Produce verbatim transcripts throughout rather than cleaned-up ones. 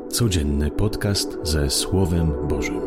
Codzienny podcast ze Słowem Bożym.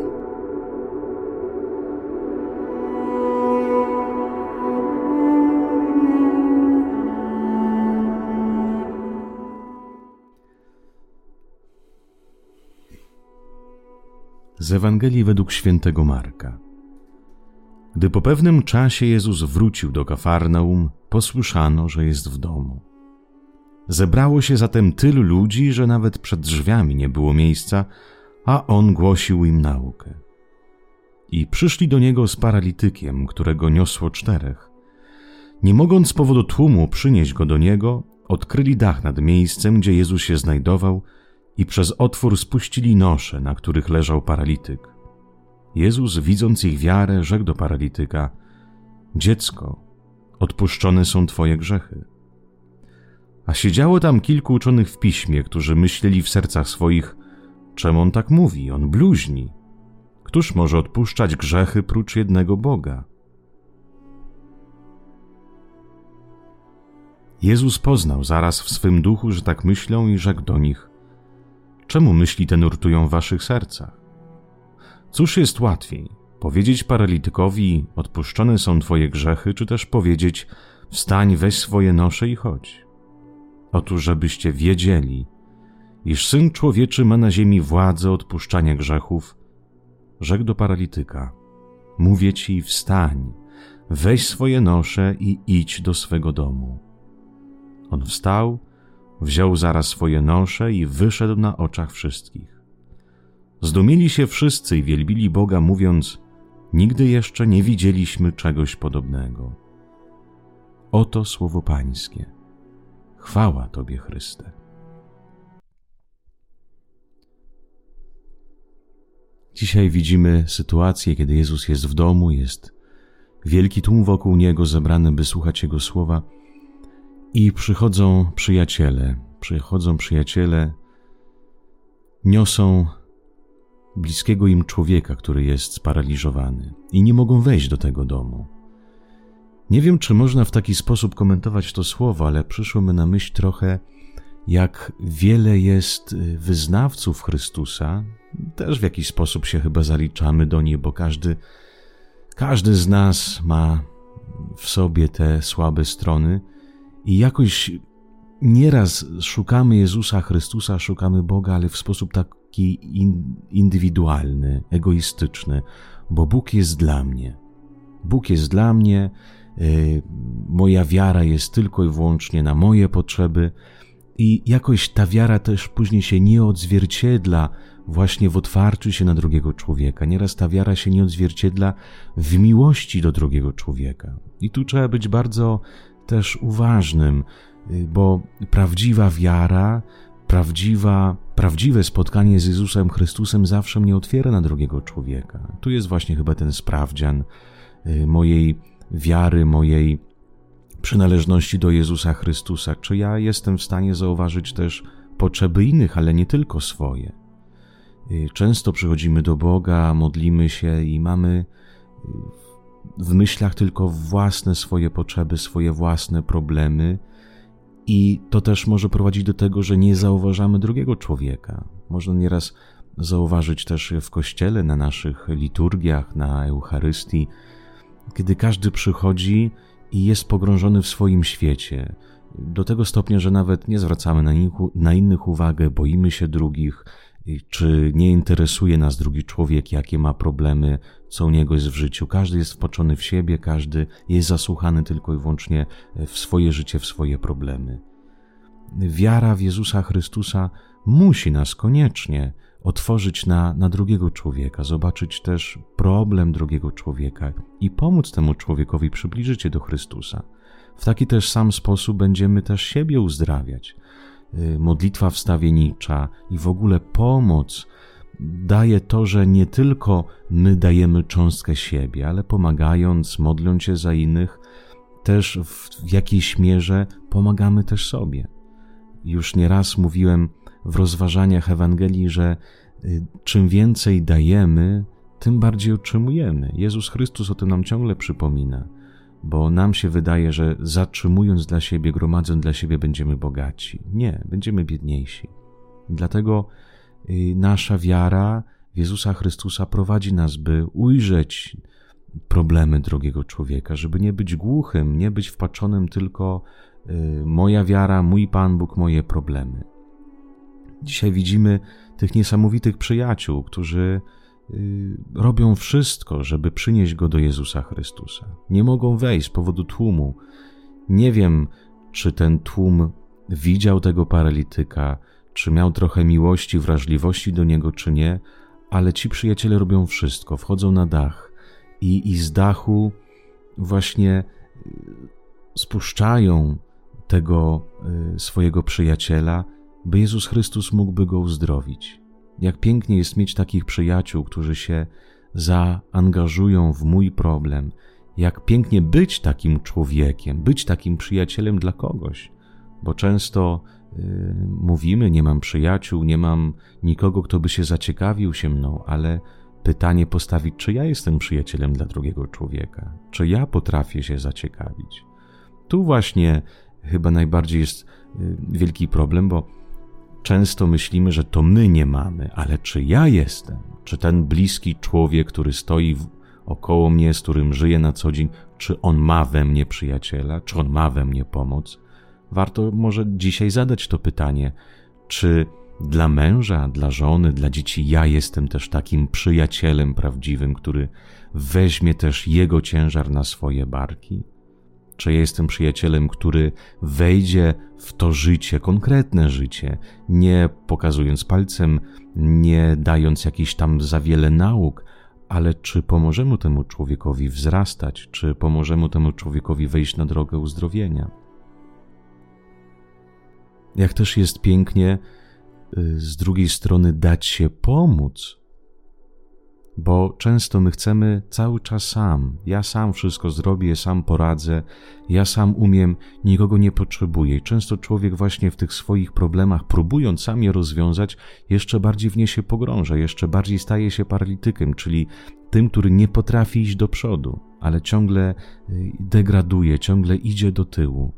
Z Ewangelii według świętego Marka. Gdy po pewnym czasie Jezus wrócił do Kafarnaum, posłyszano, że jest w domu. Zebrało się zatem tylu ludzi, że nawet przed drzwiami nie było miejsca, a On głosił im naukę. I przyszli do Niego z paralitykiem, którego niosło czterech. Nie mogąc z powodu tłumu przynieść Go do Niego, odkryli dach nad miejscem, gdzie Jezus się znajdował i przez otwór spuścili nosze, na których leżał paralityk. Jezus, widząc ich wiarę, rzekł do paralityka: Dziecko, odpuszczone są Twoje grzechy. A siedziało tam kilku uczonych w piśmie, którzy myśleli w sercach swoich: czemu on tak mówi? On bluźni. Któż może odpuszczać grzechy prócz jednego Boga? Jezus poznał zaraz w swym duchu, że tak myślą, i rzekł do nich: czemu myśli te nurtują w waszych sercach? Cóż jest łatwiej, powiedzieć paralitykowi: odpuszczone są twoje grzechy, czy też powiedzieć: wstań, weź swoje nosze i chodź? Otóż, żebyście wiedzieli, iż Syn Człowieczy ma na ziemi władzę odpuszczania grzechów, rzekł do paralityka: mówię ci, wstań, weź swoje nosze i idź do swego domu. On wstał, wziął zaraz swoje nosze i wyszedł na oczach wszystkich. Zdumieli się wszyscy i wielbili Boga, mówiąc: nigdy jeszcze nie widzieliśmy czegoś podobnego. Oto słowo Pańskie. Chwała Tobie, Chryste. Dzisiaj widzimy sytuację, kiedy Jezus jest w domu, jest wielki tłum wokół Niego zebrany, by słuchać Jego słowa, i przychodzą przyjaciele, przychodzą przyjaciele, niosą bliskiego im człowieka, który jest sparaliżowany, i nie mogą wejść do tego domu. Nie wiem, czy można w taki sposób komentować to słowo, ale przyszło mi na myśl trochę, jak wiele jest wyznawców Chrystusa. Też w jakiś sposób się chyba zaliczamy do nich, bo każdy, każdy z nas ma w sobie te słabe strony i jakoś nieraz szukamy Jezusa Chrystusa, szukamy Boga, ale w sposób taki indywidualny, egoistyczny, bo Bóg jest dla mnie. Bóg jest dla mnie, yy, moja wiara jest tylko i wyłącznie na moje potrzeby i jakoś ta wiara też później się nie odzwierciedla właśnie w otwarciu się na drugiego człowieka. Nieraz ta wiara się nie odzwierciedla w miłości do drugiego człowieka. I tu trzeba być bardzo też uważnym, bo prawdziwa wiara, prawdziwa, prawdziwe spotkanie z Jezusem Chrystusem zawsze mnie otwiera na drugiego człowieka. Tu jest właśnie chyba ten sprawdzian mojej wiary, mojej przynależności do Jezusa Chrystusa. Czy ja jestem w stanie zauważyć też potrzeby innych, ale nie tylko swoje. Często przychodzimy do Boga, modlimy się i mamy w myślach tylko własne swoje potrzeby, swoje własne problemy, i to też może prowadzić do tego, że nie zauważamy drugiego człowieka. Można nieraz zauważyć też w Kościele, na naszych liturgiach, na Eucharystii, kiedy każdy przychodzi i jest pogrążony w swoim świecie, do tego stopnia, że nawet nie zwracamy na, nich, na innych uwagę, boimy się drugich, czy nie interesuje nas drugi człowiek, jakie ma problemy, co u niego jest w życiu. Każdy jest wpatrzony w siebie, każdy jest zasłuchany tylko i wyłącznie w swoje życie, w swoje problemy. Wiara w Jezusa Chrystusa musi nas koniecznie otworzyć na, na drugiego człowieka, zobaczyć też problem drugiego człowieka i pomóc temu człowiekowi przybliżyć się do Chrystusa. W taki też sam sposób będziemy też siebie uzdrawiać. Modlitwa wstawiennicza i w ogóle pomoc daje to, że nie tylko my dajemy cząstkę siebie, ale pomagając, modląc się za innych, też w jakiejś mierze pomagamy też sobie. Już nieraz mówiłem w rozważaniach Ewangelii, że czym więcej dajemy, tym bardziej otrzymujemy. Jezus Chrystus o tym nam ciągle przypomina, bo nam się wydaje, że zatrzymując dla siebie, gromadząc dla siebie, będziemy bogaci. Nie, będziemy biedniejsi. Dlatego nasza wiara w Jezusa Chrystusa prowadzi nas, by ujrzeć problemy drugiego człowieka, żeby nie być głuchym, nie być wpaczonym tylko moja wiara, mój Pan Bóg, moje problemy. Dzisiaj widzimy tych niesamowitych przyjaciół, którzy robią wszystko, żeby przynieść go do Jezusa Chrystusa. Nie mogą wejść z powodu tłumu. Nie wiem, czy ten tłum widział tego paralityka, czy miał trochę miłości, wrażliwości do niego, czy nie, ale ci przyjaciele robią wszystko, wchodzą na dach i, i z dachu właśnie spuszczają tego swojego przyjaciela, by Jezus Chrystus mógłby go uzdrowić. Jak pięknie jest mieć takich przyjaciół, którzy się zaangażują w mój problem. Jak pięknie być takim człowiekiem, być takim przyjacielem dla kogoś. Bo często yy, mówimy, nie mam przyjaciół, nie mam nikogo, kto by się zaciekawił się mną, ale pytanie postawić, czy ja jestem przyjacielem dla drugiego człowieka? Czy ja potrafię się zaciekawić? Tu właśnie chyba najbardziej jest yy, wielki problem, bo często myślimy, że to my nie mamy, ale czy ja jestem? Czy ten bliski człowiek, który stoi w, około mnie, z którym żyję na co dzień, czy on ma we mnie przyjaciela? Czy on ma we mnie pomoc? Warto może dzisiaj zadać to pytanie, czy dla męża, dla żony, dla dzieci ja jestem też takim przyjacielem prawdziwym, który weźmie też jego ciężar na swoje barki? Czy ja jestem przyjacielem, który wejdzie w to życie, konkretne życie, nie pokazując palcem, nie dając jakichś tam za wiele nauk, ale czy pomożemy temu człowiekowi wzrastać, czy pomożemy temu człowiekowi wejść na drogę uzdrowienia? Jak też jest pięknie z drugiej strony dać się pomóc, bo często my chcemy cały czas sam. Ja sam wszystko zrobię, sam poradzę, ja sam umiem, nikogo nie potrzebuję. I często człowiek właśnie w tych swoich problemach, próbując sam je rozwiązać, jeszcze bardziej w nie się pogrąża, jeszcze bardziej staje się paralitykiem, czyli tym, który nie potrafi iść do przodu, ale ciągle degraduje, ciągle idzie do tyłu.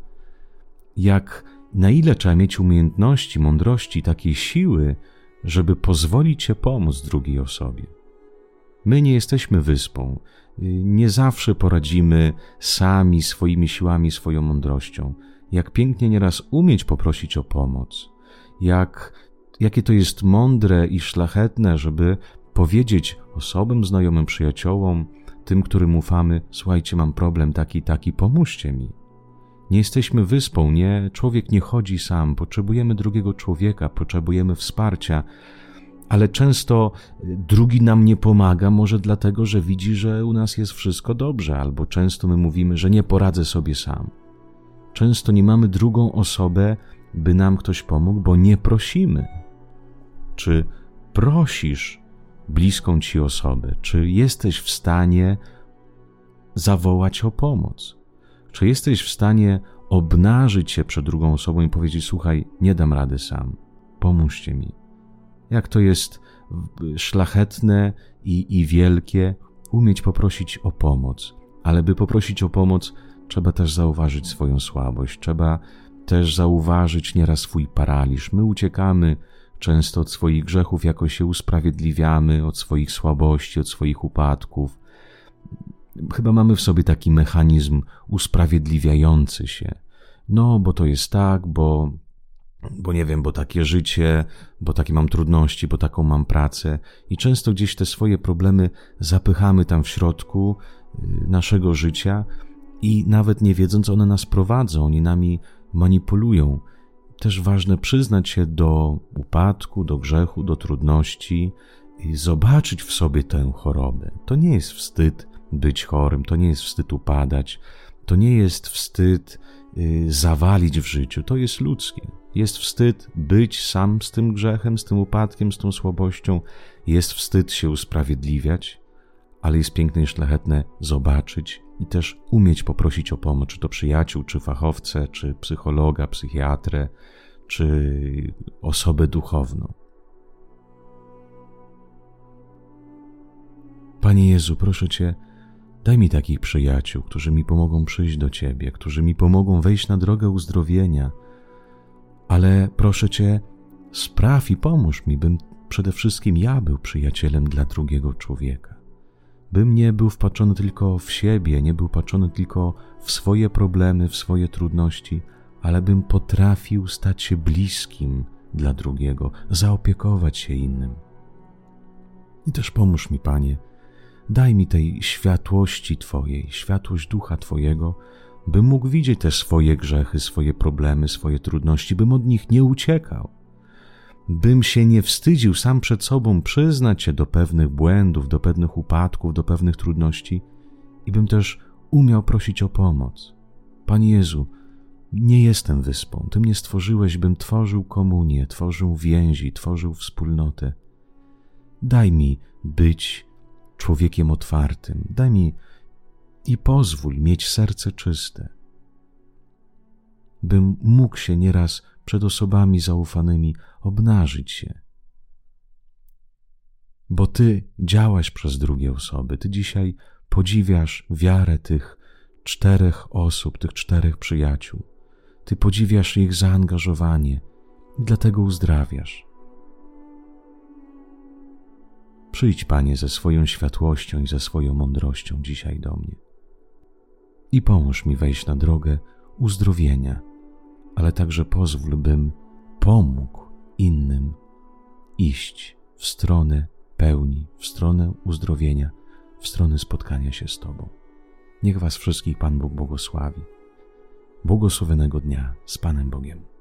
Jak na ile trzeba mieć umiejętności, mądrości, takiej siły, żeby pozwolić się pomóc drugiej osobie. My nie jesteśmy wyspą, nie zawsze poradzimy sami swoimi siłami, swoją mądrością. Jak pięknie nieraz umieć poprosić o pomoc, jak, jakie to jest mądre i szlachetne, żeby powiedzieć osobom, znajomym, przyjaciołom, tym, którym ufamy, słuchajcie, mam problem taki, taki, pomóżcie mi. Nie jesteśmy wyspą, nie, człowiek nie chodzi sam, potrzebujemy drugiego człowieka, potrzebujemy wsparcia, ale często drugi nam nie pomaga, może dlatego, że widzi, że u nas jest wszystko dobrze, albo często my mówimy, że nie poradzę sobie sam. Często nie mamy drugą osobę, by nam ktoś pomógł, bo nie prosimy. Czy prosisz bliską ci osobę? Czy jesteś w stanie zawołać o pomoc? Czy jesteś w stanie obnażyć się przed drugą osobą i powiedzieć, słuchaj, nie dam rady sam, pomóżcie mi. Jak to jest szlachetne i, i wielkie umieć poprosić o pomoc. Ale by poprosić o pomoc, trzeba też zauważyć swoją słabość, trzeba też zauważyć nieraz swój paraliż. My uciekamy często od swoich grzechów, jakoś się usprawiedliwiamy, od swoich słabości, od swoich upadków. Chyba mamy w sobie taki mechanizm usprawiedliwiający się. No, bo to jest tak, bo, bo nie wiem, bo takie życie, bo takie mam trudności, bo taką mam pracę. I często gdzieś te swoje problemy zapychamy tam w środku naszego życia i nawet nie wiedząc, one nas prowadzą, oni nami manipulują. Też ważne przyznać się do upadku, do grzechu, do trudności i zobaczyć w sobie tę chorobę. To nie jest wstyd być chorym, to nie jest wstyd upadać, to nie jest wstyd y, zawalić w życiu, to jest ludzkie. Jest wstyd być sam z tym grzechem, z tym upadkiem, z tą słabością, jest wstyd się usprawiedliwiać, ale jest piękne i szlachetne zobaczyć i też umieć poprosić o pomoc, czy to przyjaciół, czy fachowcę, czy psychologa, psychiatrę, czy osobę duchowną. Panie Jezu, proszę Cię, daj mi takich przyjaciół, którzy mi pomogą przyjść do Ciebie, którzy mi pomogą wejść na drogę uzdrowienia, ale proszę Cię, spraw i pomóż mi, bym przede wszystkim ja był przyjacielem dla drugiego człowieka. Bym nie był wpatrzony tylko w siebie, nie był wpatrzony tylko w swoje problemy, w swoje trudności, ale bym potrafił stać się bliskim dla drugiego, zaopiekować się innym. I też pomóż mi, Panie, daj mi tej światłości Twojej, światłość Ducha Twojego, bym mógł widzieć te swoje grzechy, swoje problemy, swoje trudności, bym od nich nie uciekał, bym się nie wstydził sam przed sobą przyznać się do pewnych błędów, do pewnych upadków, do pewnych trudności i bym też umiał prosić o pomoc. Panie Jezu, nie jestem wyspą. Ty mnie stworzyłeś, bym tworzył komunię, tworzył więzi, tworzył wspólnotę. Daj mi być człowiekiem otwartym. Daj mi i pozwól mieć serce czyste, bym mógł się nieraz przed osobami zaufanymi obnażyć się. Bo Ty działasz przez drugie osoby. Ty dzisiaj podziwiasz wiarę tych czterech osób, tych czterech przyjaciół. Ty podziwiasz ich zaangażowanie i dlatego uzdrawiasz. Przyjdź, Panie, ze swoją światłością i ze swoją mądrością dzisiaj do mnie i pomóż mi wejść na drogę uzdrowienia, ale także pozwól, bym pomógł innym iść w stronę pełni, w stronę uzdrowienia, w stronę spotkania się z Tobą. Niech Was wszystkich Pan Bóg błogosławi. Błogosławionego dnia z Panem Bogiem.